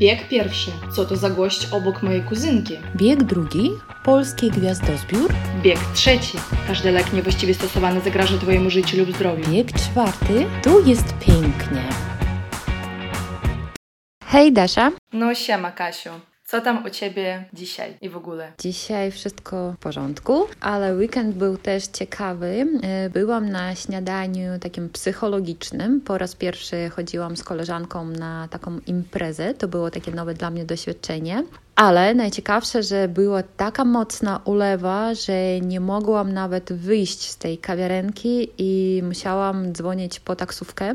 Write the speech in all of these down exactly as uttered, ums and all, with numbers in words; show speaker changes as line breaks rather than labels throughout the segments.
Bieg pierwszy. Co to za gość obok mojej kuzynki?
Bieg drugi. Polski gwiazdozbiór.
Bieg trzeci. Każdy lek niewłaściwie stosowany zagraża Twojemu życiu lub zdrowiu.
Bieg czwarty. Tu jest pięknie. Hej Dasza.
No siema Kasiu. Co tam u Ciebie dzisiaj i w ogóle?
Dzisiaj wszystko w porządku, ale weekend był też ciekawy. Byłam na śniadaniu takim psychologicznym. Po raz pierwszy chodziłam z koleżanką na taką imprezę. To było takie nowe dla mnie doświadczenie. Ale najciekawsze, że była taka mocna ulewa, że nie mogłam nawet wyjść z tej kawiarenki i musiałam dzwonić po taksówkę.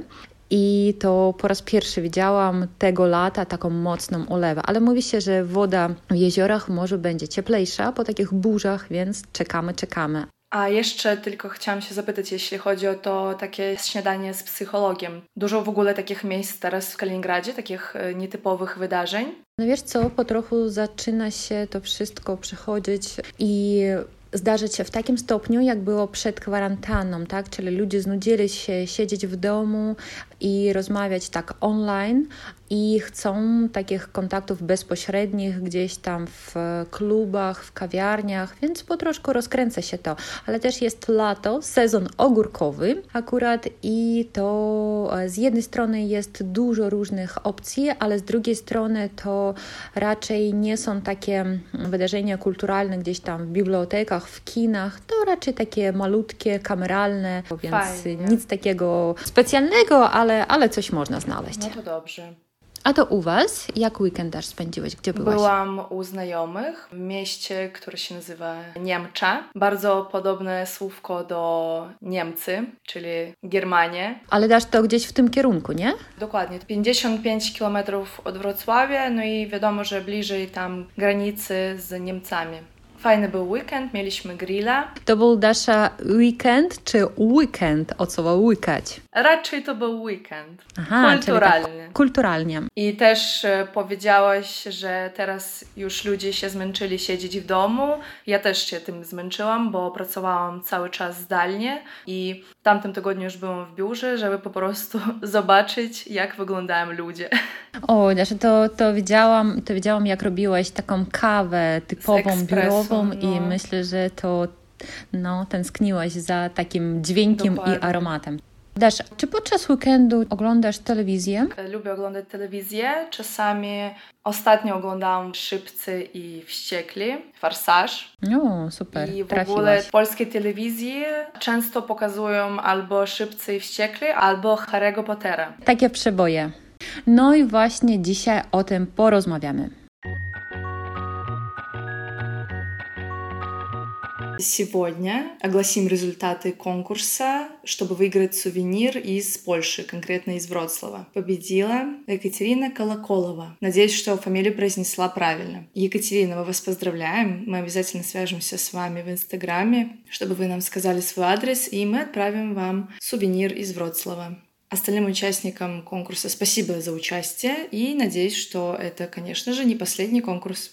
I to po raz pierwszy widziałam tego lata taką mocną ulewę. Ale mówi się, że woda w jeziorach może będzie cieplejsza po takich burzach, więc czekamy, czekamy.
A jeszcze tylko chciałam się zapytać, jeśli chodzi o to takie śniadanie z psychologiem. Dużo w ogóle takich miejsc teraz w Kaliningradzie, takich nietypowych wydarzeń?
No wiesz co, po trochu zaczyna się to wszystko przechodzić i zdarzyć się w takim stopniu, jak było przed kwarantanną, tak? Czyli ludzie znudzili się siedzieć w domu i rozmawiać tak online i chcą takich kontaktów bezpośrednich gdzieś tam w klubach, w kawiarniach, więc po troszkę rozkręca się to. Ale też jest lato, sezon ogórkowy akurat i to z jednej strony jest dużo różnych opcji, ale z drugiej strony to raczej nie są takie wydarzenia kulturalne gdzieś tam w bibliotekach, w kinach, to raczej takie malutkie, kameralne, więc
Fajnie.
Nic takiego specjalnego, ale, ale coś można znaleźć.
No to dobrze.
A to u Was? Jak weekend też spędziłeś? Gdzie byłaś?
Byłam u znajomych w mieście, które się nazywa Niemcza. Bardzo podobne słówko do Niemcy, czyli Germanie.
Ale dasz to gdzieś w tym kierunku, nie?
Dokładnie. pięćdziesiąt pięć kilometrów od Wrocławia, no i wiadomo, że bliżej tam granicy z Niemcami. Fajny był weekend, mieliśmy grilla.
To był Dasza weekend czy weekend od słowa łykać?
Raczej to był weekend.
Aha,
kulturalnie.
Czyli tak, kulturalnie.
I też e, powiedziałaś, że teraz już ludzie się zmęczyli siedzieć w domu. Ja też się tym zmęczyłam, bo pracowałam cały czas zdalnie i w tamtym tygodniu już byłam w biurze, żeby po prostu zobaczyć, jak wyglądają ludzie.
O, Dasza, to, to, widziałam, to widziałam, jak robiłaś taką kawę typową, biurową no. I myślę, że to no, tęskniłaś za takim dźwiękiem Dokładnie. I aromatem. Dasza, czy podczas weekendu oglądasz telewizję?
Lubię oglądać telewizję. Czasami ostatnio oglądałam Szybcy i Wściekli, Farsaż.
No, super,
I w
trafiłaś.
ogóle w polskiej telewizji często pokazują albo Szybcy i Wściekli, albo Harry'ego Pottera.
Takie przeboje. No i właśnie dzisiaj o tym porozmawiamy.
Сегодня огласим результаты конкурса, чтобы выиграть сувенир из Польши, конкретно из Вроцлава. Победила Екатерина Колоколова. Надеюсь, что фамилию произнесла правильно. Екатерина, мы вас поздравляем. Мы обязательно свяжемся с вами в Инстаграме, чтобы вы нам сказали свой адрес, и мы отправим вам сувенир из Вроцлава. Остальным участникам конкурса спасибо за участие и надеюсь, что это, конечно же, не последний конкурс.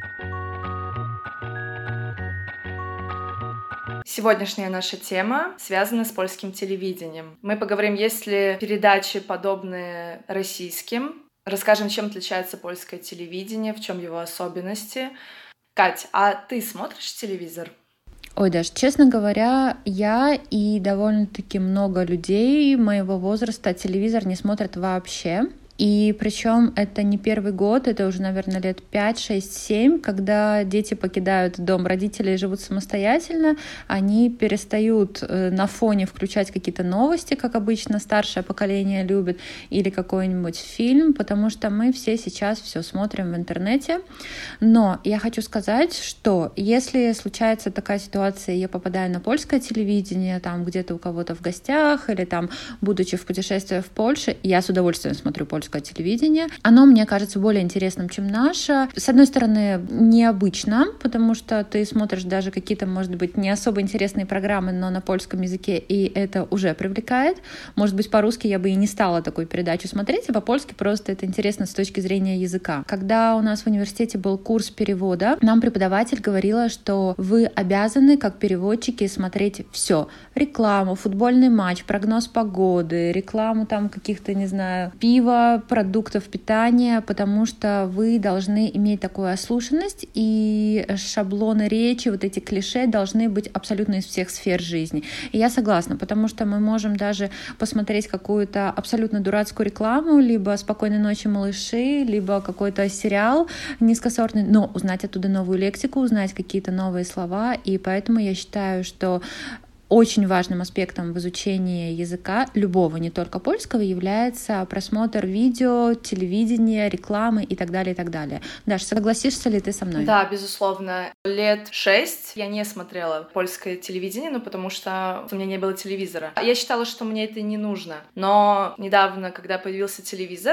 Сегодняшняя наша тема связана с польским телевидением. Мы поговорим, есть ли передачи, подобные российским. Расскажем, чем отличается польское телевидение, в чем его особенности. Кать, а ты смотришь телевизор?
Ой, Даш, честно говоря, я и довольно-таки много людей моего возраста телевизор не смотрят вообще. И причем это не первый год, это уже, наверное, лет пять, шесть, семь, когда дети покидают дом родителей и живут самостоятельно, они перестают на фоне включать какие-то новости, как обычно старшее поколение любит, или какой-нибудь фильм, потому что мы все сейчас все смотрим в интернете. Но я хочу сказать, что если случается такая ситуация, я попадаю на польское телевидение, там где-то у кого-то в гостях, или там, будучи в путешествии в Польше, я с удовольствием смотрю польское телевидение. Оно мне кажется более интересным, чем наше. С одной стороны, необычно, потому что ты смотришь даже какие-то, может быть, не особо интересные программы, но на польском языке, и это уже привлекает. Может быть, по-русски я бы и не стала такую передачу смотреть, а по-польски просто это интересно с точки зрения языка. Когда у нас в университете был курс перевода, нам преподаватель говорила, что вы обязаны, как переводчики, смотреть все. Рекламу, футбольный матч, прогноз погоды, рекламу там каких-то, не знаю, пива, выбора продуктов питания, потому что вы должны иметь такую ослушанность, и шаблоны речи, вот эти клише должны быть абсолютно из всех сфер жизни. И я согласна, потому что мы можем даже посмотреть какую-то абсолютно дурацкую рекламу, либо «Спокойной ночи, малыши», либо какой-то сериал низкосортный, но узнать оттуда новую лексику, узнать какие-то новые слова, и поэтому я считаю, что очень важным аспектом в изучении языка, любого, не только польского, является просмотр видео, телевидения, рекламы и так далее, и так далее. Даша, согласишься ли ты со мной?
Да, безусловно. Лет шесть я не смотрела польское телевидение, ну, потому что у меня не было телевизора. Я считала, что мне это не нужно. Но недавно, когда появился телевизор,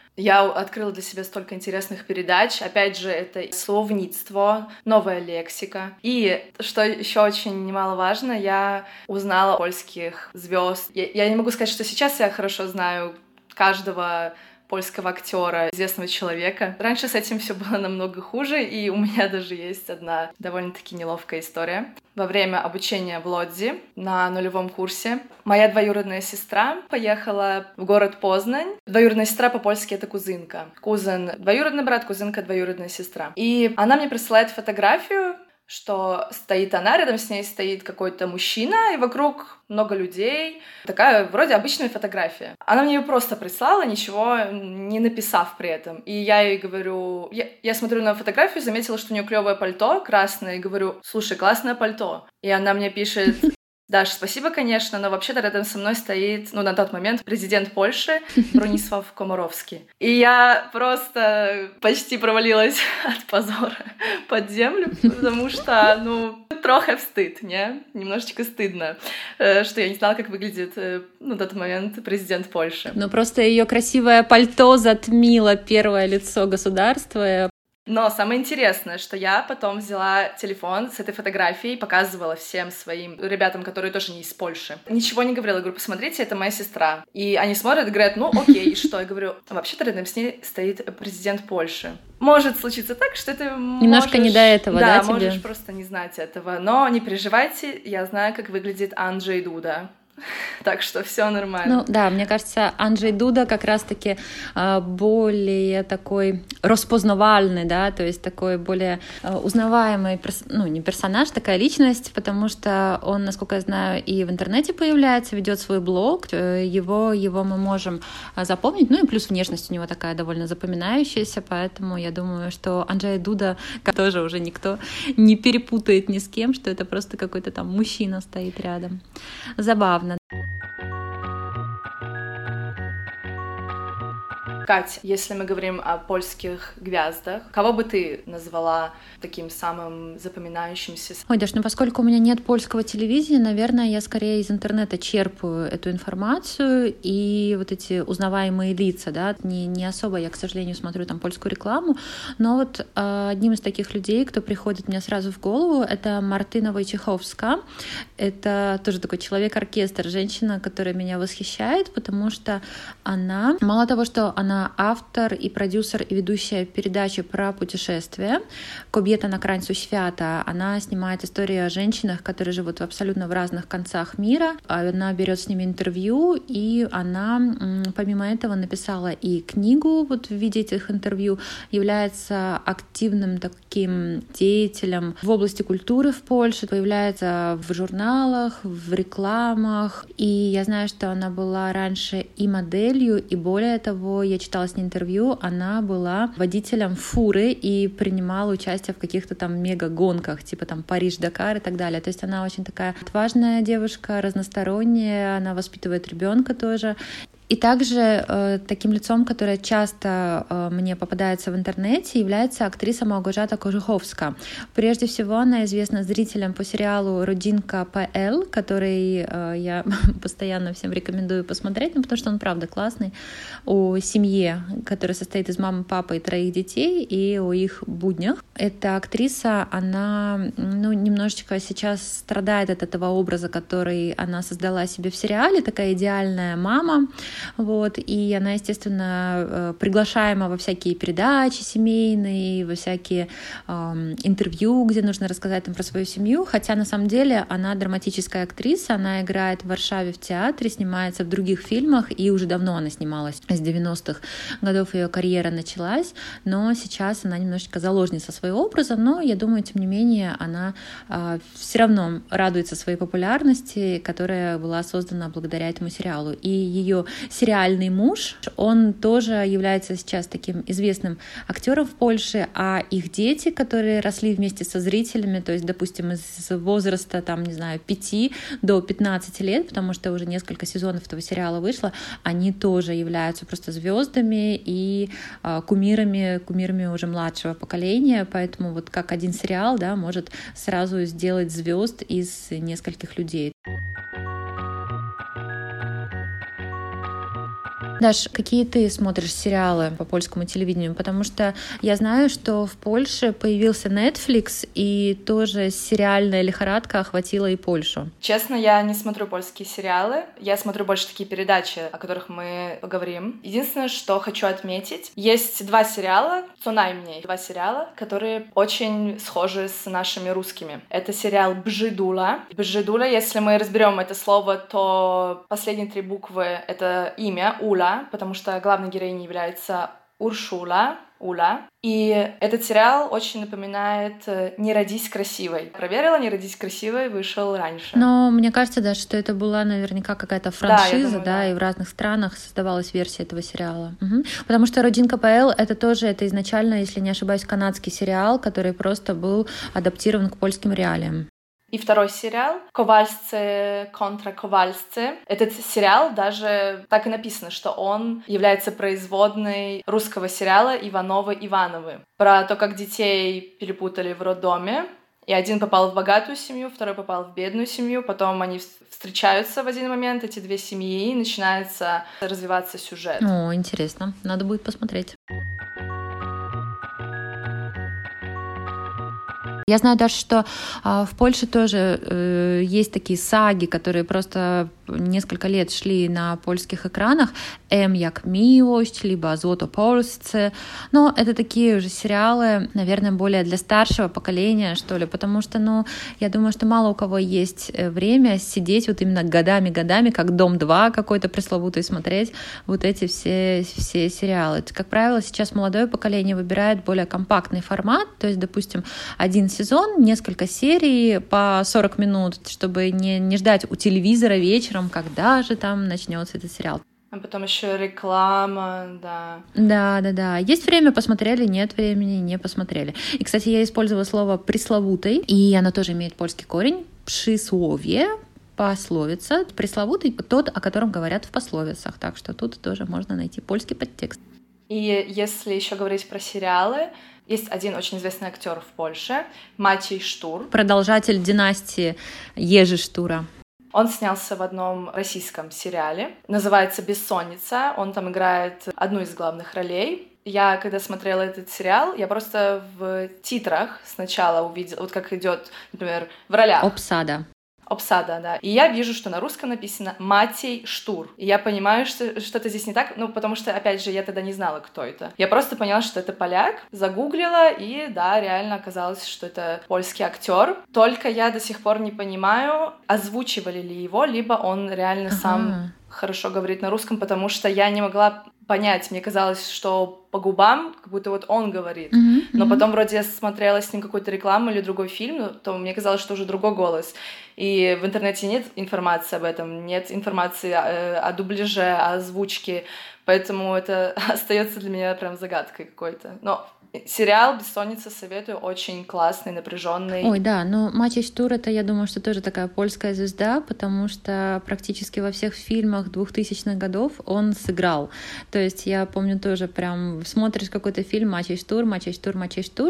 я открыла для себя столько интересных передач. Опять же, это словництво, новая лексика. И, что еще очень немаловажно, я узнала польских звезд. Я, я не могу сказать, что сейчас я хорошо знаю каждого польского актера, известного человека. Раньше с этим все было намного хуже, и у меня даже есть одна довольно-таки неловкая история. Во время обучения в Лодзи на нулевом курсе моя двоюродная сестра поехала в город Познань. Двоюродная сестра по-польски — это кузынка. Кузен — двоюродный брат, кузынка — двоюродная сестра. И она мне присылает фотографию, что стоит она, рядом с ней стоит какой-то мужчина, и вокруг много людей. Такая вроде обычная фотография. Она мне ее просто прислала, ничего не написав при этом. И я ей говорю... Я, я смотрю на фотографию, заметила, что у нее клевое пальто красное, и говорю: слушай, классное пальто. И она мне пишет: Даш, спасибо, конечно, но вообще-то рядом со мной стоит, ну, на тот момент, президент Польши Бронислав Комаровский. И я просто почти провалилась от позора под землю, потому что, ну, трохи встыд, не? Немножечко стыдно, что я не знала, как выглядит, ну, на тот момент президент Польши.
Но просто ее красивое пальто затмило первое лицо государства.
Но самое интересное, что я потом взяла телефон с этой фотографией, показывала всем своим ребятам, которые тоже не из Польши. Ничего не говорила, я говорю: посмотрите, это моя сестра. И они смотрят и говорят: ну окей, и что? Я говорю: вообще-то рядом с ней стоит президент Польши. Может случиться так, что это
немножко
можешь...
не до этого, да,
да,
тебе?
можешь просто не знать этого. Но не переживайте, я знаю, как выглядит Анджей Дуда. Так что все нормально.
Ну да, мне кажется, Анджей Дуда как раз-таки э, более такой распознавальный, да, то есть такой более э, узнаваемый, перс... ну не персонаж, такая личность, потому что он, насколько я знаю, и в интернете появляется, ведет свой блог, его, его мы можем запомнить, ну и плюс внешность у него такая довольно запоминающаяся, поэтому я думаю, что Анджей Дуда тоже уже никто не перепутает ни с кем, что это просто какой-то там мужчина стоит рядом. Забавно.
Кать, если мы говорим о польских гвяздах, кого бы ты назвала таким самым запоминающимся?
Ой, Даш, ну поскольку у меня нет польского телевидения, наверное, я скорее из интернета черпаю эту информацию и вот эти узнаваемые лица, да, не, не особо я, к сожалению, смотрю там польскую рекламу, но вот э, одним из таких людей, кто приходит мне сразу в голову, это Мартына Войчеховска. Это тоже такой человек-оркестр, женщина, которая меня восхищает, потому что она, мало того, что она автор и продюсер и ведущая передачи про путешествия «Кобета на краńcu świata». Она снимает истории о женщинах, которые живут абсолютно в разных концах мира. Она берет с ними интервью, и она, помимо этого, написала и книгу вот в виде этих интервью, является активным таким деятелем в области культуры в Польше, появляется в журналах, в рекламах. И я знаю, что она была раньше и моделью, и более того, я читала с ней интервью, она была водителем фуры и принимала участие в каких-то там мега-гонках, типа там Париж-Дакар и так далее. То есть она очень такая отважная девушка, разносторонняя, она воспитывает ребенка тоже. И также э, таким лицом, которое часто э, мне попадается в интернете, является актриса Мałgorzata Kożuchowska. Прежде всего, она известна зрителям по сериалу «Родинка ПЛ», который э, я постоянно всем рекомендую посмотреть, ну, потому что он, правда, классный, о семье, которая состоит из мамы, папы и троих детей, и о их буднях. Эта актриса, она ну, немножечко сейчас страдает от этого образа, который она создала себе в сериале, такая идеальная мама, вот, и она, естественно, приглашаема во всякие передачи семейные, во всякие э, интервью, где нужно рассказать там про свою семью, хотя на самом деле она драматическая актриса, она играет в Варшаве в театре, снимается в других фильмах, и уже давно она снималась, с девяностых годов ее карьера началась, но сейчас она немножечко заложница своего образа, но я думаю, тем не менее, она э, все равно радуется своей популярности, которая была создана благодаря этому сериалу. И ее сериальный муж, он тоже является сейчас таким известным актером в Польше, а их дети, которые росли вместе со зрителями, то есть, допустим, из возраста, там, не знаю, пяти до пятнадцати лет, потому что уже несколько сезонов этого сериала вышло, они тоже являются просто звездами и э, кумирами, кумирами уже младшего поколения, поэтому вот как один сериал, да, может сразу сделать звезд из нескольких людей. Даш, какие ты смотришь сериалы по польскому телевидению? Потому что я знаю, что в Польше появился Netflix, и тоже сериальная лихорадка охватила и Польшу.
Честно, я не смотрю польские сериалы. Я смотрю больше такие передачи, о которых мы поговорим. Единственное, что хочу отметить, есть два сериала, цунаймniej, два сериала, которые очень схожи с нашими русскими. Это сериал «Бжидула». «Бжидула», если мы разберем это слово, то последние три буквы — это имя, Уля, потому что главной героиней является Уршула, Уля. И этот сериал очень напоминает «Не родись красивой». Проверила, «Не родись красивой» вышел раньше.
Но мне кажется, да, что это была наверняка какая-то франшиза, да,
думаю,
да,
да,
и в разных странах создавалась версия этого сериала. Угу. Потому что «Родинка ПЛ» — это тоже, это изначально, если не ошибаюсь, канадский сериал, который просто был адаптирован к польским реалиям.
И второй сериал «Ковальсцы конtra Ковальсцы». Этот сериал даже так и написано, что он является производной русского сериала «Ивановы-Ивановы». Про то, как детей перепутали в роддоме. И один попал в богатую семью, второй попал в бедную семью. Потом они встречаются в один момент, эти две семьи, и начинается развиваться сюжет.
О, интересно. Надо будет посмотреть. Я знаю даже, что э, в Польше тоже э, есть такие саги, которые просто несколько лет шли на польских экранах. «М як miłość», либо «Злото Polsce». Но это такие уже сериалы, наверное, более для старшего поколения, что ли, потому что, ну, я думаю, что мало у кого есть время сидеть вот именно годами-годами, как «Дом-два» какой-то пресловутый, смотреть вот эти все, все сериалы. Как правило, сейчас молодое поколение выбирает более компактный формат, то есть, допустим, один сезон, несколько серий по сорок минут, чтобы не, не ждать у телевизора вечером, когда же там начнется этот сериал.
А потом еще реклама, да.
Да, да, да. Есть время, посмотрели, нет времени, не посмотрели. И, кстати, я использовала слово «пресловутый», и оно тоже имеет польский корень. «Przysłowie», пословица. Пресловутый — тот, о котором говорят в пословицах. Так что тут тоже можно найти польский подтекст.
И если еще говорить про сериалы, есть один очень известный актер в Польше, Матей Штур.
Продолжатель династии Ежи Штура.
Он снялся в одном российском сериале, называется «Бессонница». Он там играет одну из главных ролей. Я, когда смотрела этот сериал, я просто в титрах сначала увидела, вот как идет, например, в ролях.
Обсада.
Обсада, да. И я вижу, что на русском написано «Матей Штур». И я понимаю, что что-то здесь не так, ну, потому что, опять же, я тогда не знала, кто это. Я просто поняла, что это поляк, загуглила, и, да, реально оказалось, что это польский актер. Только я до сих пор не понимаю, озвучивали ли его, либо он реально ага. сам хорошо говорит на русском, потому что я не могла понять. Мне казалось, что по губам, как будто вот он говорит. Mm-hmm. Но потом вроде я смотрела с ним какую-то рекламу или другой фильм, то мне казалось, что уже другой голос. И в интернете нет информации об этом, нет информации о, о дубляже, о озвучке, поэтому это остается для меня прям загадкой какой-то. Но сериал «Бессонница» советую, очень классный, напряженный.
Ой, да, но Матей Штур — это, я думаю, что тоже такая польская звезда, потому что практически во всех фильмах двухтысячных годов он сыграл. То есть я помню тоже прям смотришь какой-то фильм «Матей Штур», «Матей Штур», «Матей Штур»,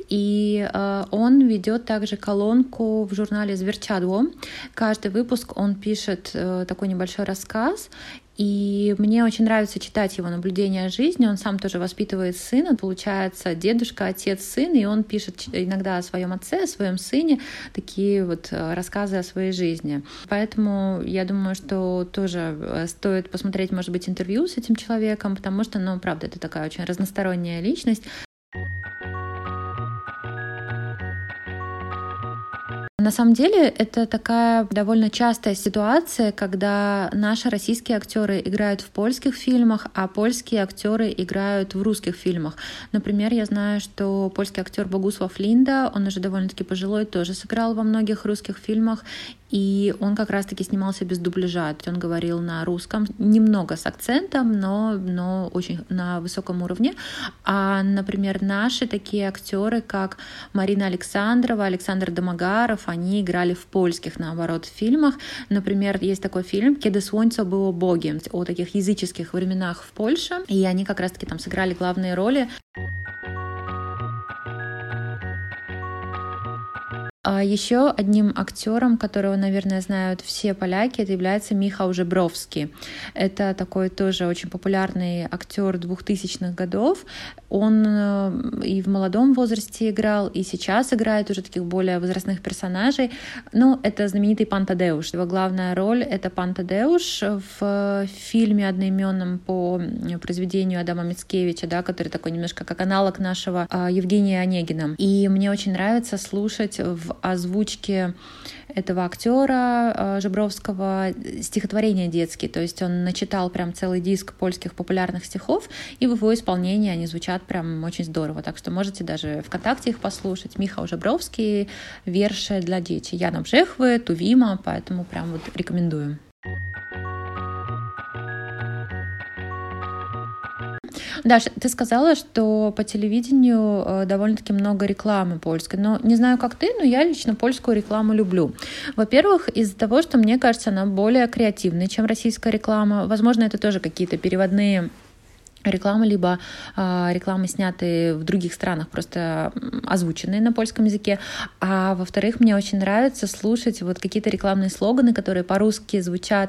и э, он ведет также колонку в журнале «Зверчадло». Каждый выпуск он пишет э, такой небольшой рассказ, И мне очень нравится читать его наблюдения о жизни. Он сам тоже воспитывает сына, получается, дедушка, отец, сын, и он пишет иногда о своем отце, о своем сыне, такие вот рассказы о своей жизни. Поэтому я думаю, что тоже стоит посмотреть, может быть, интервью с этим человеком, потому что, ну, правда, это такая очень разносторонняя личность. На самом деле это такая довольно частая ситуация, когда наши российские актеры играют в польских фильмах, а польские актеры играют в русских фильмах. Например, я знаю, что польский актер Богусław Линда, он уже довольно-таки пожилой, тоже сыграл во многих русских фильмах, и он как раз-таки снимался без дубляжа. Он говорил на русском, немного с акцентом, но, но очень на высоком уровне. А, например, наши такие актеры, как Марина Александрова, Александр Домогаров, они играли в польских, наоборот, фильмах. Например, есть такой фильм «Kiedy słońce było Bogiem» о таких языческих временах в Польше, и они как раз-таки там сыграли главные роли. А еще одним актером, которого, наверное, знают все поляки, это является Michał Żebrowski. Это такой тоже очень популярный актер двухтысячных годов. Он и в молодом возрасте играл, и сейчас играет уже таких более возрастных персонажей. Ну, это знаменитый Пан Тадеуш. Его главная роль — это Пан Тадеуш в фильме одноименном по произведению Адама Мицкевича, да, который такой немножко как аналог нашего Евгения Онегина. И мне очень нравится слушать в озвучке этого актера Жебровского стихотворения детские. То есть он начитал прям целый диск польских популярных стихов, и в его исполнении они звучат прям очень здорово. Так что можете даже ВКонтакте их послушать. Michał Żebrowski, верши для детей. Яна Бжехвы, Тувима, поэтому прям вот рекомендую. Даша, ты сказала, что по телевидению довольно-таки много рекламы польской. Но не знаю, как ты, но я лично польскую рекламу люблю. Во-первых, из-за того, что мне кажется, она более креативная, чем российская реклама. Возможно, это тоже какие-то переводные рекламы, либо э, рекламы, снятые в других странах, просто озвученные на польском языке. А во-вторых, мне очень нравится слушать вот какие-то рекламные слоганы, которые по-русски звучат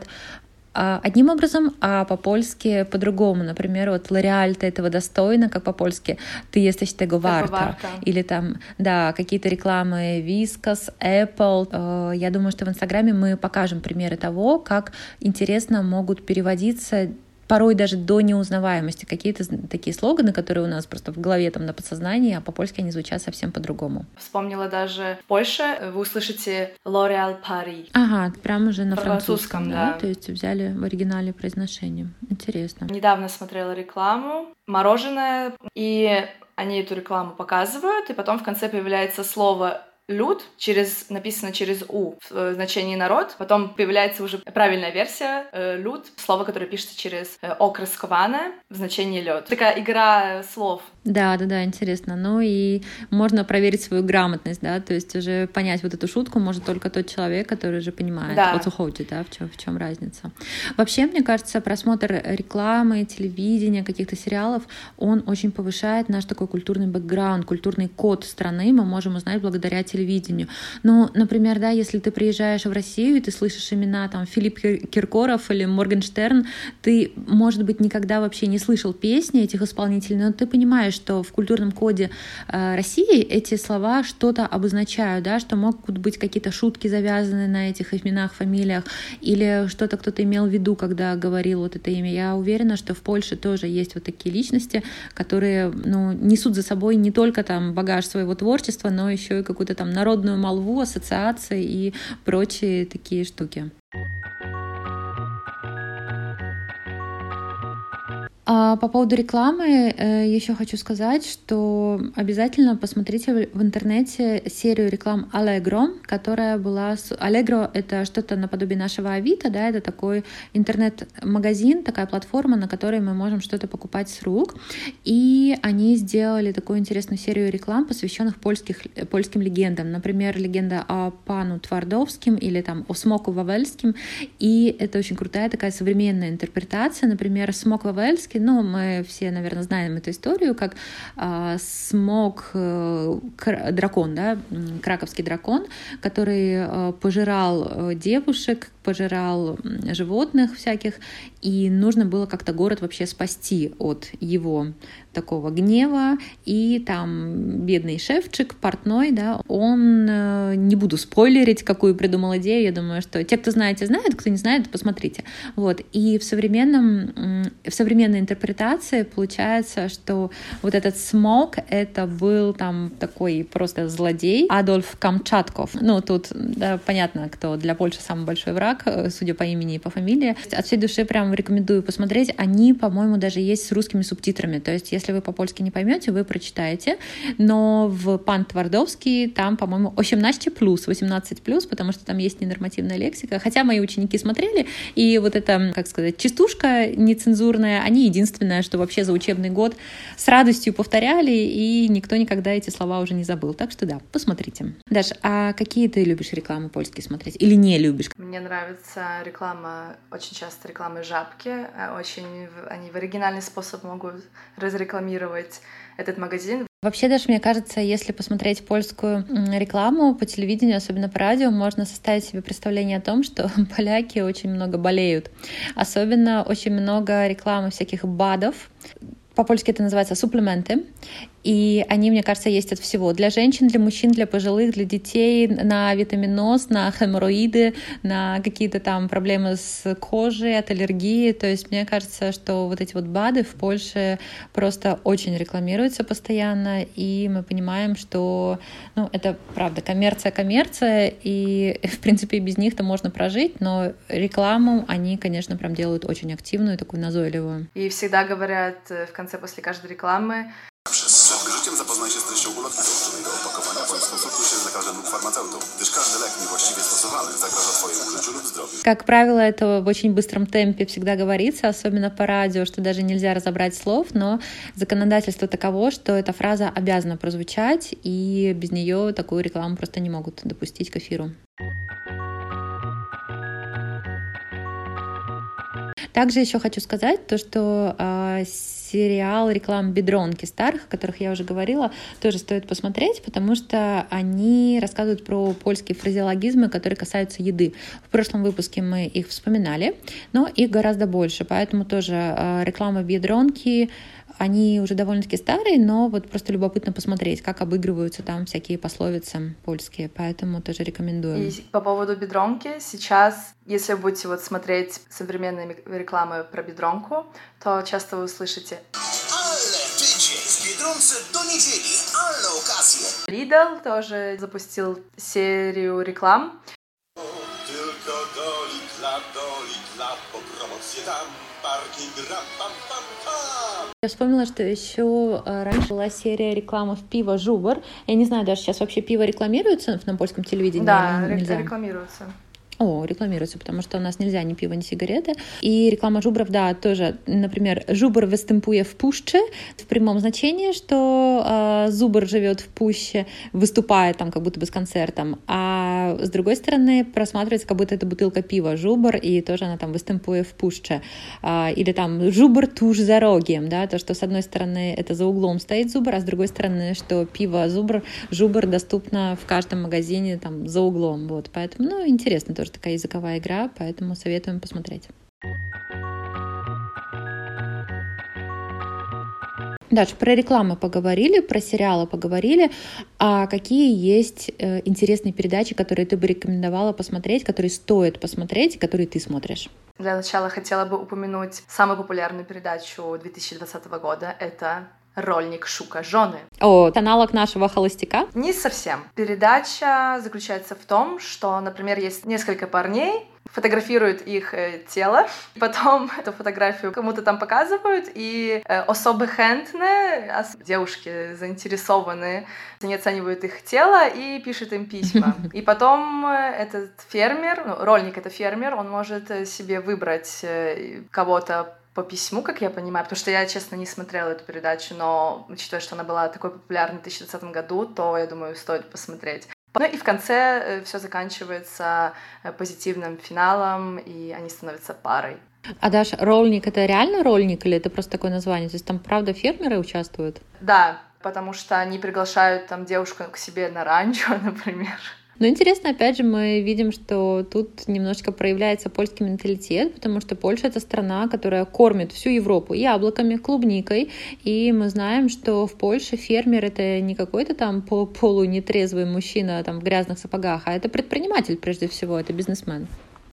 одним образом, а по-польски по-другому. Например, вот «L'Oréal, ты этого достойна», как по-польски «Ты jesteś tego warta». Или там, да, какие-то рекламы Whiskas, Apple. Я думаю, что в Инстаграме мы покажем примеры того, как интересно могут переводиться порой даже до неузнаваемости какие-то такие слоганы, которые у нас просто в голове, там, на подсознании, а по-польски они звучат совсем по-другому.
Вспомнила даже в Польше вы услышите L'Oréal Paris.
Ага, прям уже на французском, французском да?
да.
То есть взяли в оригинале произношение. Интересно.
Недавно смотрела рекламу, мороженое, и они эту рекламу показывают, и потом в конце появляется слово «люд», через, написано через «у» в значении «народ». Потом появляется уже правильная версия э, «люд», слово, которое пишется через э, «окресковане» в значении «лёд». Такая игра слов.
Да, да, да, интересно. Ну и можно проверить свою грамотность, да, то есть уже понять вот эту шутку может только тот человек, который уже понимает,
да.
what to hold, да, в чем, в чем разница. Вообще, мне кажется, просмотр рекламы, телевидения, каких-то сериалов, он очень повышает наш такой культурный бэкграунд, культурный код страны мы можем узнать благодаря телевидению. Ну, например, да, если ты приезжаешь в Россию и ты слышишь имена там Филипп Киркоров или Моргенштерн, ты, может быть, никогда вообще не слышал песни этих исполнителей, но ты понимаешь, что в культурном коде э, России эти слова что-то обозначают, да, что могут быть какие-то шутки завязаны на этих именах, фамилиях, или что-то кто-то имел в виду, когда говорил вот это имя. Я уверена, что в Польше тоже есть вот такие личности, которые, ну, несут за собой не только там багаж своего творчества, но еще и какую-то там народную молву, ассоциации и прочие такие штуки. А по поводу рекламы еще хочу сказать, что обязательно посмотрите в интернете серию реклам Allegro, которая была... Allegro — это что-то наподобие нашего Авито, да, это такой интернет-магазин, такая платформа, на которой мы можем что-то покупать с рук. И они сделали такую интересную серию реклам, посвященных польских, польским легендам. Например, легенда о пану Твардовским или там о Смоку Вавельским. И это очень крутая такая современная интерпретация. Например, Смок Вавельский, ну, мы все, наверное, знаем эту историю, как э, смог э, кр- дракон, да, краковский дракон, который э, пожирал э, девушек, пожирал животных всяких, и нужно было как-то город вообще спасти от его такого гнева, и там бедный шефчик, портной, да, он, не буду спойлерить, какую придумал идею, я думаю, что те, кто знаете, знают, кто не знает, посмотрите. Вот. И в современном, в современной интерпретации получается, что вот этот Смог, это был там такой просто злодей, Адольф Камчатков. Ну, тут, да, понятно, кто для Польши самый большой враг, судя по имени и по фамилии. От всей души прям рекомендую посмотреть. Они, по-моему, даже есть с русскими субтитрами. То есть, если вы по-польски не поймете, вы прочитаете. Но в Пан Твардовский там, по-моему, восемнадцать плюс, восемнадцать плюс, потому что там есть ненормативная лексика. Хотя мои ученики смотрели, и вот эта, как сказать, частушка нецензурная, они единственное, что вообще за учебный год с радостью повторяли, и никто никогда эти слова уже не забыл. Так что да, посмотрите. Даш, а какие ты любишь рекламы польские смотреть? Или не любишь?
Мне нравится реклама, очень часто рекламы Жабки. Очень они в оригинальный способ могут разрекламировать этот магазин.
Вообще, даже мне кажется, если посмотреть польскую рекламу по телевидению, особенно по радио, можно составить себе представление о том, что поляки очень много болеют. Особенно очень много рекламы всяких БАДов. По-польски это называется суплементы. И они, мне кажется, есть от всего. Для женщин, для мужчин, для пожилых, для детей, на витаминоз, на хеморроиды, на какие-то там проблемы с кожей, от аллергии. То есть мне кажется, что вот эти вот БАДы в Польше просто очень рекламируются постоянно, и мы понимаем, что, ну, это правда, коммерция, коммерция, и, в принципе, без них-то можно прожить, но рекламу они, конечно, прям делают очень активную, такую назойливую.
И всегда говорят в конце, после каждой рекламы:
Przed użyciem zapoznaj się z treścią ulotki założonego opakowania bądź skonsultuj się z lekarzem lub farmaceutą, gdyż każdy lek niewłaściwie stosowany zagraża Twojemu życiu lub zdrowiu.
Как правило, это в очень быстром темпе всегда говорится, особенно по радио, что даже нельзя разобрать слов, но законодательство таково, что эта фраза обязана прозвучать, и без нее такую рекламу просто не могут допустить к эфиру. Также еще хочу сказать то, что э, сериал реклам Бедронки старых, о которых я уже говорила, тоже стоит посмотреть, потому что они рассказывают про польские фразеологизмы, которые касаются еды. В прошлом выпуске мы их вспоминали, но их гораздо больше, поэтому тоже э, реклама Бедронки, они уже довольно-таки старые, но вот просто любопытно посмотреть, как обыгрываются там всякие пословицы польские, поэтому тоже рекомендую.
И по поводу Бедронки, сейчас, если вы будете вот смотреть современные рекламы про Бедронку, то часто вы услышите: Lidl тоже запустил серию реклам.
Я вспомнила, что еще раньше была серия рекламы пива Жубр. Я не знаю, даже сейчас вообще пиво рекламируется на польском телевидении?
Да, рекламируется.
О, рекламируется, потому что у нас нельзя ни пиво, ни сигареты. И реклама Жубров, да, тоже, например, Жубр выступует в пуще, в прямом значении, что э, Зубр живет в пуще, выступает там как будто бы с концертом, а с другой стороны просматривается, как будто это бутылка пива Жубр, и тоже она там выступует в пуще. Э, или там Жубр туж за рогiem, да, то, что с одной стороны это за углом стоит Зубр, а с другой стороны, что пиво Зубр, Жубр доступно в каждом магазине там за углом, вот, поэтому, ну, интересно тоже. Такая языковая игра, поэтому советуем посмотреть. Дальше про рекламу поговорили, про сериалы поговорили. А какие есть э, интересные передачи, которые ты бы рекомендовала посмотреть, которые стоит посмотреть, которые ты смотришь?
Для начала хотела бы упомянуть самую популярную передачу две тысячи двадцатого года. Это «Рольник Шука Жоны».
О, аналог нашего «Холостяка»?
Не совсем. Передача заключается в том, что, например, есть несколько парней, фотографируют их э, тело, потом эту фотографию кому-то там показывают, и э, особо хентне, девушки заинтересованные, они оценивают их тело и пишут им письма. И потом э, этот фермер, ну, рольник — это фермер, он может себе выбрать э, кого-то по письму, как я понимаю, потому что я, честно, не смотрела эту передачу, но учитывая, что она была такой популярной в две тысячи двадцатом году, то, я думаю, стоит посмотреть. Ну и в конце все заканчивается позитивным финалом, и они становятся парой.
А Даш, рольник — это реально рольник или это просто такое название? То есть там правда фермеры участвуют?
Да, потому что они приглашают там девушку к себе на ранчо, например.
Но интересно, опять же, мы видим, что тут немножечко проявляется польский менталитет, потому что Польша — это страна, которая кормит всю Европу яблоками, клубникой, и мы знаем, что в Польше фермер — это не какой-то там полунетрезвый мужчина там в грязных сапогах, а это предприниматель прежде всего, это бизнесмен.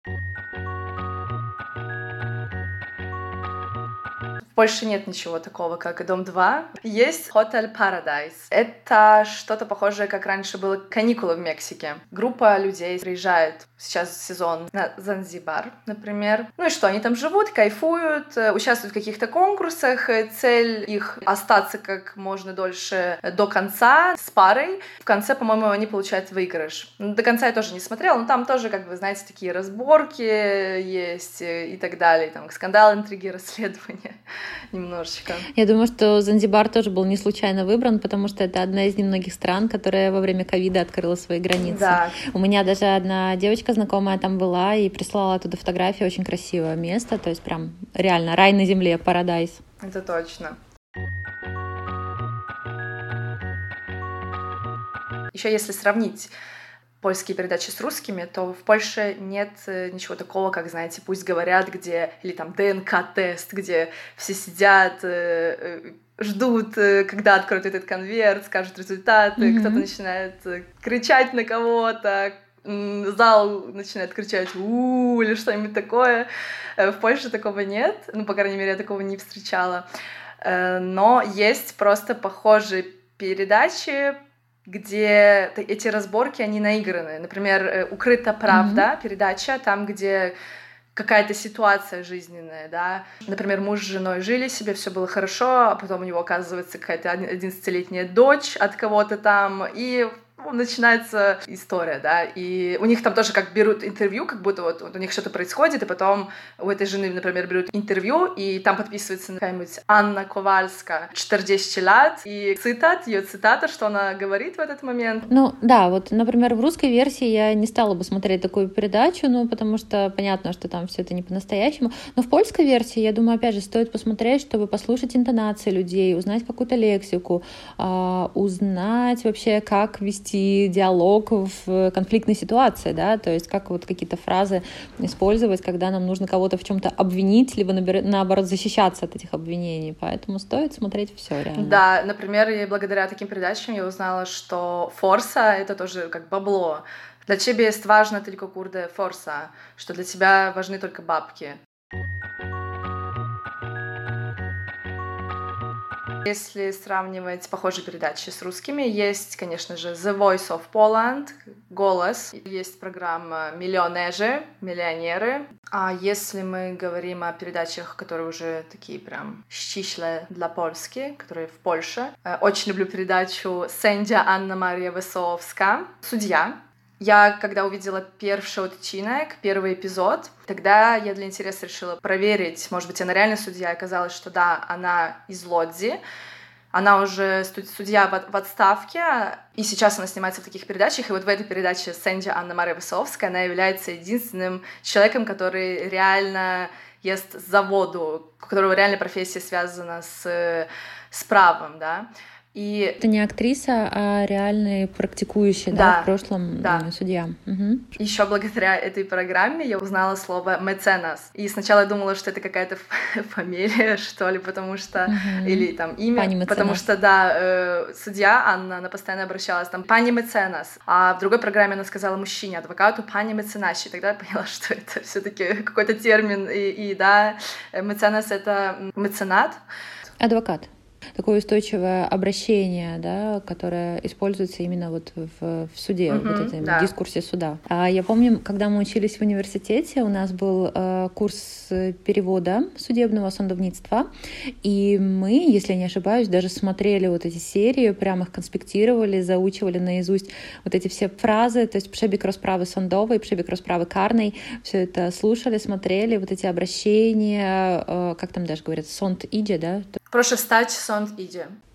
В Польше нет ничего такого, как Дом два. Есть Hotel Paradise. Это что-то похожее, как раньше было каникулы в Мексике. Группа людей приезжает, сейчас сезон, на Занзибар, например. Ну и что, они там живут, кайфуют, участвуют в каких-то конкурсах. Цель их — остаться как можно дольше до конца с парой. В конце, по-моему, они получают выигрыш. До конца я тоже не смотрела, но там тоже, как вы знаете, такие разборки есть и так далее. Там скандалы, интриги, расследования. Немножечко.
Я думаю, что Занзибар тоже был не случайно выбран, потому что это одна из немногих стран, которая во время ковида открыла свои границы.
Да.
У меня даже одна девочка знакомая там была и прислала оттуда фотографии, очень красивое место, то есть прям реально рай на земле, парадайз.
Это точно. Еще если сравнить польские передачи с русскими, то в Польше нет ничего такого, как, знаете, «Пусть говорят», где, или там ДНК-тест, где все сидят, ждут, когда откроют этот конверт, скажут результаты, mm-hmm. кто-то начинает кричать на кого-то, зал начинает кричать «у-у-у» или что-нибудь такое. В Польше такого нет, ну, по крайней мере, я такого не встречала. Но есть просто похожие передачи, где эти разборки, они наиграны. Например, «Укрыта правда», mm-hmm. передача, там, где какая-то ситуация жизненная, да. Например, муж с женой жили себе, все было хорошо, а потом у него оказывается какая-то одиннадцатилетняя дочь от кого-то там, и начинается история, да, и у них там тоже как берут интервью, как будто вот, вот у них что-то происходит, и потом у этой жены, например, берут интервью, и там подписывается какая-нибудь Анна Ковальска, четырнадцать лет, и цитат, ее цитата, что она говорит в этот момент.
Ну, да, вот, например, в русской версии я не стала бы смотреть такую передачу, ну, потому что понятно, что там все это не по-настоящему, но в польской версии, я думаю, опять же, стоит посмотреть, чтобы послушать интонации людей, узнать какую-то лексику, э, узнать вообще, как вести диалог в конфликтной ситуации, да, то есть как вот какие-то фразы использовать, когда нам нужно кого-то в чем-то обвинить, либо наоборот защищаться от этих обвинений, поэтому стоит смотреть все реально.
Да, например, и благодаря таким передачам я узнала, что форса — это тоже как бабло. Для тебя есть важно только курде форса, что для тебя важны только бабки. Если сравнивать похожие передачи с русскими, есть, конечно же, The Voice of Poland, «Голос», есть программа «Миллионеры», «Миллионеры». А если мы говорим о передачах, которые уже такие прям ściśle для Польски, которые в Польше, очень люблю передачу «Sędzia Anna Maria Wesołowska», «Судья». Я, когда увидела первый odcinek, первый эпизод, тогда я для интереса решила проверить, может быть, она реально судья, и оказалось, что да, она из Лодзи, она уже судья в отставке, и сейчас она снимается в таких передачах, и вот в этой передаче «Sędzia Anna Maria Wesołowska» она является единственным человеком, который реально ест за воду, у которого реально профессия связана с, с правом, да. И...
Это не актриса, а реальный практикующий, да, да в прошлом
да.
судья. Угу.
Еще благодаря этой программе я узнала слово «меценас». И сначала я думала, что это какая-то фамилия, что ли, потому что... Угу. Или там имя. Потому что, да, э, судья Анна, она постоянно обращалась там «пани меценас». А в другой программе она сказала мужчине, адвокату «пани меценаш». И тогда я поняла, что это все-таки какой-то термин. И, и да, меценас — это меценат.
Адвокат. Такое устойчивое обращение, да, которое используется именно вот в, в суде, mm-hmm, вот этом да. дискурсе суда. А я помню, когда мы учились в университете, у нас был э, курс перевода судебного судовництва, и мы, если я не ошибаюсь, даже смотрели вот эти серии, прямо их конспектировали, заучивали наизусть вот эти все фразы, то есть «Przebik rozprawy sądowej», «Przebik rozprawy karnej», все это слушали, смотрели, вот эти обращения, э, как там даже говорят, «Sąd idzie», да?
Прошу встать, сон иди.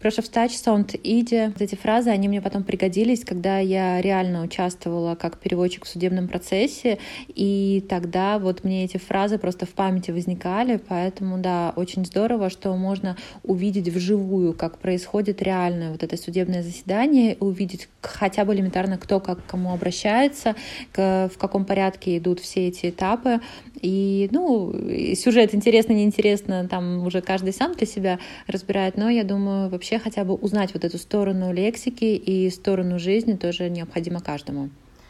Proszę wstać, sąd idzie. Вот эти фразы, они мне потом пригодились, когда я реально участвовала как переводчик в судебном процессе, и тогда вот мне эти фразы просто в памяти возникали, поэтому, да, очень здорово, что можно увидеть вживую, как происходит реальное вот это судебное заседание, увидеть хотя бы элементарно, кто как к кому обращается, к, в каком порядке идут все эти этапы. И, ну, сюжет интересно, неинтересно, там уже каждый сам для себя разбирает, но я думаю, вообще хотя бы узнать вот эту сторону лексики и сторону жизни тоже необходимо каждому.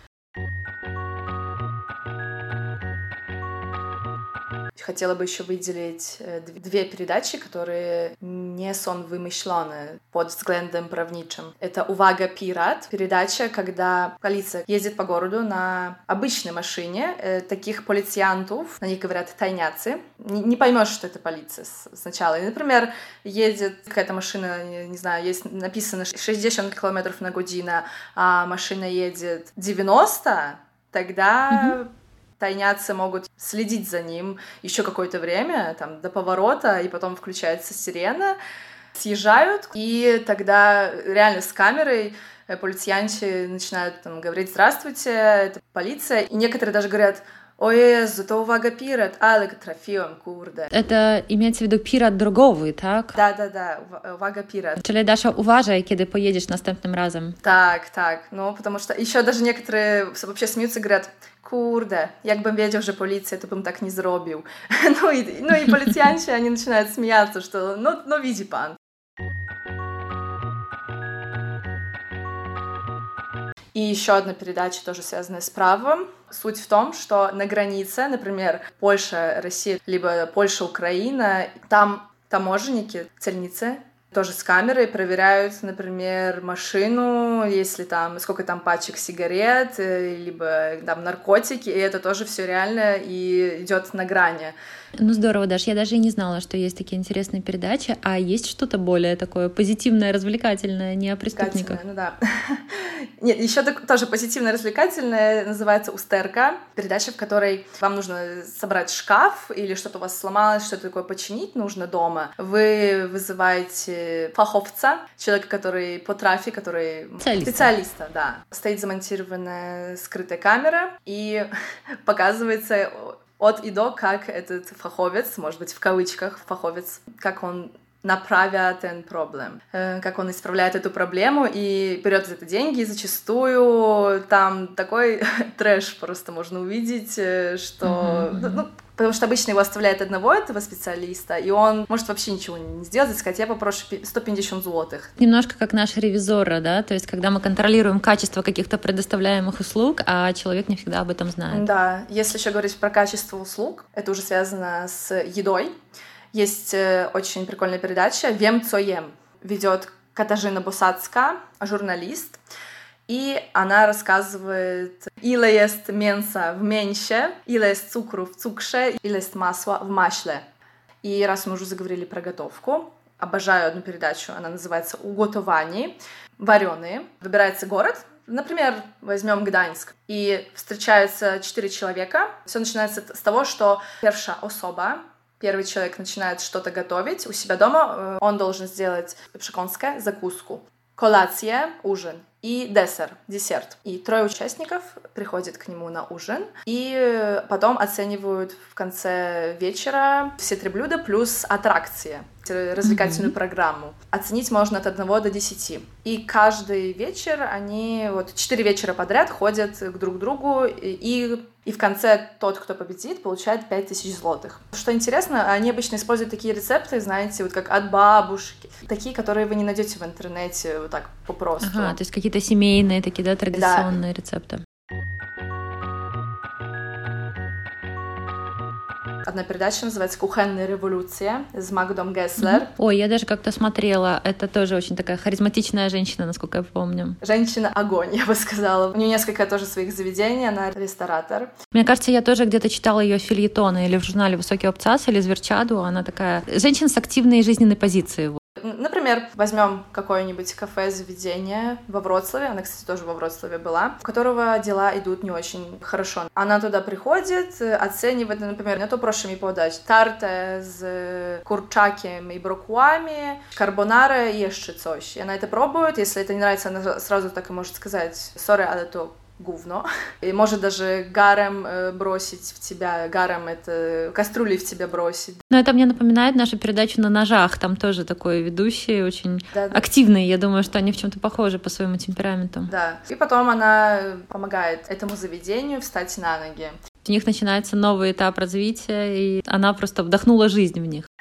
Хотела бы еще выделить две передачи, которые не сон вымышлены под взглядом правничим. Это «Увага, пират» передача, когда полиция ездит по городу на обычной машине, таких полициантов, на них говорят тайняцы. Не, не поймешь, что это полиция сначала. И, например, едет какая-то машина, не знаю, есть написано шестьдесят километров на година, а машина едет девяносто, тогда... Mm-hmm. Тайняцы могут следить за ним еще какое-то время, там, до поворота, и потом включается сирена, съезжают, и тогда реально с камерой полициянты начинают там говорить «Здравствуйте, это полиция», и некоторые даже говорят «О Jezu, to uwaga pirat, ale trafiłem, kurde».
Это имеется в виду пират drogowy, tak?
Да-да-да, uwaga pirat.
Czyli Dasza, uważaj, kiedy pojedziesz następnym razem.
Так, так, ну, потому что еще даже некоторые вообще смеются и говорят «Kurde, jakbym wiedział, że policja, to bym tak nie zrobił». Ну и, ну и полициянты, они начинают смеяться, что «Ну, ну види пан». И еще одна передача, тоже связанная с правом. Суть в том, что на границе, например, Польша-Россия, либо Польша-Украина, там таможенники, цельницы, тоже с камерой проверяют, например, машину, если там, сколько там пачек сигарет, либо там наркотики, и это тоже все реально и идет на грани.
Ну здорово, Даш, я даже и не знала, что есть такие интересные передачи, а есть что-то более такое позитивное, развлекательное, не о преступниках?
Ну да. Нет, еще тоже позитивное, развлекательное, называется «Устерка», передача, в которой вам нужно собрать шкаф или что-то у вас сломалось, что-то такое починить нужно дома. Вы вызываете фаховца, человека, который по трафе, который...
Специалиста.
Специалиста, да. Стоит замонтированная скрытая камера и показывается... от и до, как этот фаховец, может быть, в кавычках фаховец, как он направит этот проблем, как он исправляет эту проблему и берет за это деньги, и зачастую там такой трэш просто можно увидеть, что... Mm-hmm. Ну, потому что обычно его оставляют одного, этого специалиста, и он может вообще ничего не сделать, и сказать, я попрошу сто пятьдесят злотых.
Немножко как наши ревизоры, да, то есть когда мы контролируем качество каких-то предоставляемых услуг, а человек не всегда об этом знает.
Да, если еще говорить про качество услуг, это уже связано с едой. Есть очень прикольная передача «Wiem, co jem». Ведет Катажина Босацка, журналист, и она рассказывает, ile jest mięsa w mięsie, ile jest cukru w cukrze, ile jest masła w maśle. И раз мы уже заговорили про готовку, обожаю одну передачу, она называется «Уготовани», вареные. Выбирается город, например, возьмем Гданьск, и встречаются четыре человека. Все начинается с того, что первая особа, первый человек начинает что-то готовить у себя дома, он должен сделать przekąskę, закуску, колация, ужин, и десерт, десерт. И трое участников приходят к нему на ужин, и потом оценивают в конце вечера все три блюда плюс аттракции, развлекательную mm-hmm. программу. Оценить можно от одного до десяти. И каждый вечер они, вот четыре вечера подряд ходят к друг другу, и, и в конце тот, кто победит, получает пять тысяч злотых. Что интересно, они обычно используют такие рецепты, знаете, вот как от бабушки, такие, которые вы не найдете в интернете вот так попросту.
Ага, то есть какие-то семейные такие, да, традиционные да. рецепты.
Одна передача называется «Кухонная революция» с Магдом Гесслер.
Ой, я даже как-то смотрела. Это тоже очень такая харизматичная женщина, насколько я помню.
Женщина-огонь, я бы сказала. У нее несколько тоже своих заведений, она ресторатор.
Мне кажется, я тоже где-то читала ее фельетоны или в журнале «Высокий обцас» или «Зверчаду». Она такая женщина с активной жизненной позицией.
Например, возьмем какое-нибудь кафе, заведение во Вроцлаве, она, кстати, тоже во Вроцлаве была, у которого дела идут не очень хорошо. Она туда приходит, оценивает, например, не то прошу mi podać tartę z kurczakiem i brokułami, carbonara и jeszcze coś. И она это пробует, если это не нравится, она сразу так и может сказать «sorry, ale to говно». И может даже гаром бросить в тебя, гаром это кастрюли в тебя бросить.
Но это мне напоминает нашу передачу «На ножах», там тоже такой ведущий, очень да, да. активный, я думаю, что они в чем-то похожи по своему темпераменту.
Да, и потом она помогает этому заведению встать на ноги.
У них начинается новый этап развития, и она просто вдохнула жизнь в них.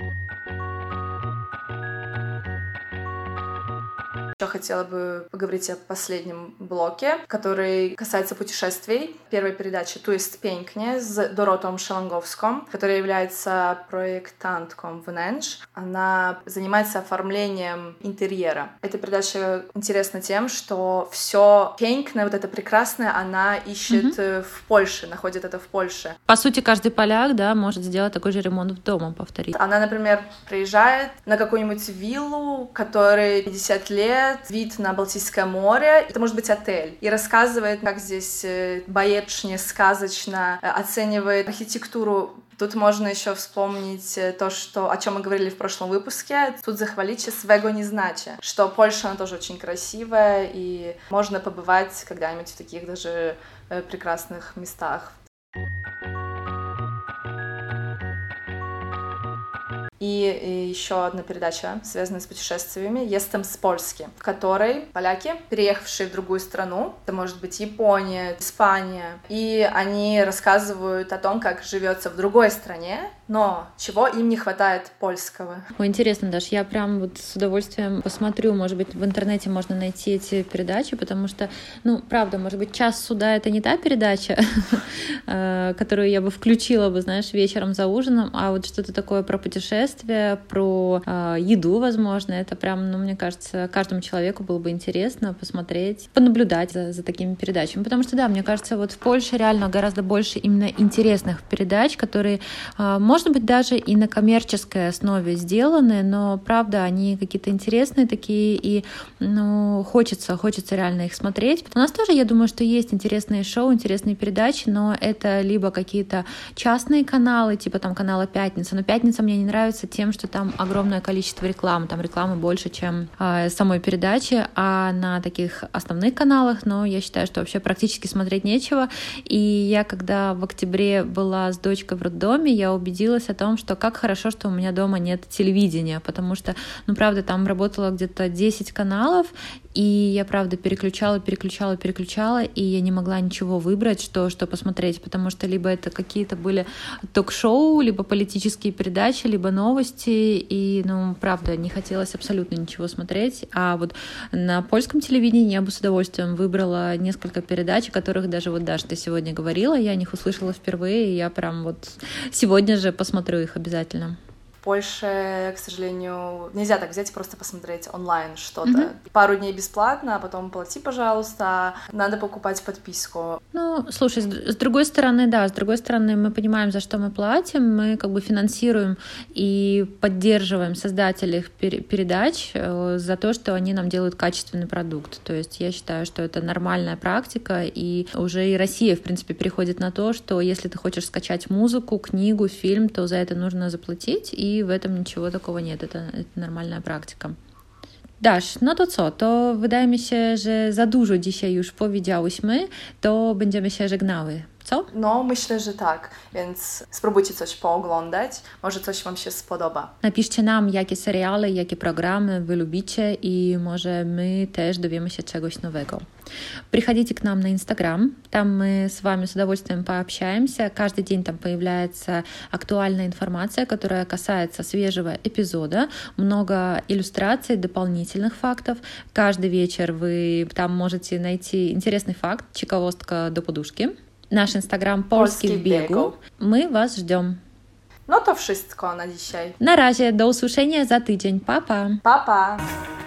Еще хотела бы поговорить о последнем блоке, который касается путешествий. Первая передача «Tu jest pięknie» с Dorotą Szelongowską, которая является проектантком wnętrz. Она занимается оформлением интерьера. Эта передача интересна тем, что все piękne, вот это прекрасное, она ищет mm-hmm. в Польше, находит это в Польше.
По сути, каждый поляк, да, может сделать такой же ремонт в дома, повторить.
Она, например, приезжает на какую-нибудь виллу, которой пятьдесят лет, вид на Балтийское море, это может быть отель, и рассказывает, как здесь баечно, сказочно, оценивает архитектуру. Тут можно еще вспомнить то, что, о чем мы говорили в прошлом выпуске. Тут захвалить свего не значит, что Польша, она тоже очень красивая, и можно побывать когда-нибудь в таких даже прекрасных местах. И, и еще одна передача, связанная с путешествиями, «Jestem z Polski», в которой поляки, переехавшие в другую страну, это может быть Япония, Испания, и они рассказывают о том, как живется в другой стране, но чего им не хватает польского.
Ой, интересно, Даш, я прям вот с удовольствием посмотрю, может быть, в интернете можно найти эти передачи, потому что, ну, правда, может быть, «Час суда» — это не та передача, которую я бы включила бы, знаешь, вечером за ужином, а вот что-то такое про путешествия, про э, еду, возможно, это прям, ну, мне кажется, каждому человеку было бы интересно посмотреть, понаблюдать за, за такими передачами, потому что, да, мне кажется, вот в Польше реально гораздо больше именно интересных передач, которые, э, может быть, даже и на коммерческой основе сделаны, но, правда, они какие-то интересные такие, и, ну, хочется, хочется реально их смотреть. У нас тоже, я думаю, что есть интересные шоу, интересные передачи, но это либо какие-то частные каналы, типа там канала «Пятница», но «Пятница» мне не нравится тем, что там огромное количество рекламы, там рекламы больше, чем э, самой передачи, а на таких основных каналах, но я считаю, что вообще практически смотреть нечего. И я, когда в октябре была с дочкой в роддоме, я убедилась о том, что как хорошо, что у меня дома нет телевидения, потому что, ну, правда, там работало где-то десять каналов, и я, правда, переключала, переключала, переключала, и я не могла ничего выбрать, что, что посмотреть, потому что либо это какие-то были ток-шоу, либо политические передачи, либо новости, и, ну, правда, не хотелось абсолютно ничего смотреть. А вот на польском телевидении я бы с удовольствием выбрала несколько передач, о которых даже вот, Даша, ты сегодня говорила, я о них услышала впервые, и я прям вот сегодня же посмотрю их обязательно.
В Польше, к сожалению, нельзя так взять и просто посмотреть онлайн что-то. Mm-hmm. Пару дней бесплатно, а потом плати, пожалуйста. Надо покупать подписку.
Ну, слушай, с другой стороны, да, с другой стороны, мы понимаем, за что мы платим, мы как бы финансируем и поддерживаем создателей передач за то, что они нам делают качественный продукт. То есть я считаю, что это нормальная практика, и уже и Россия, в принципе, переходит на то, что если ты хочешь скачать музыку, книгу, фильм, то за это нужно заплатить, и i w tym niczego takiego nie, to jest normalna praktyka. Dasz, no to co? To wydaje mi się, że za dużo dzisiaj już powiedziałyśmy, to będziemy się żegnały. Co?
No, myślę, że tak, więc spróbujcie coś pooglądać, może coś Wam się spodoba.
Napiszcie nam, jakie seriale, jakie programy Wy lubicie i może my też dowiemy się czegoś nowego. Приходите к нам на Инстаграм, там мы с вами с удовольствием пообщаемся. Каждый день там появляется актуальная информация, которая касается свежего эпизода, много иллюстраций, дополнительных фактов. Каждый вечер вы там можете найти интересный факт, ciekawostka do poduszki. Nasz Instagram Polski w biegu. My Was ждем.
No to wszystko na dzisiaj.
Na razie, do usłyszenia za tydzień. Pa, pa.
Pa, pa.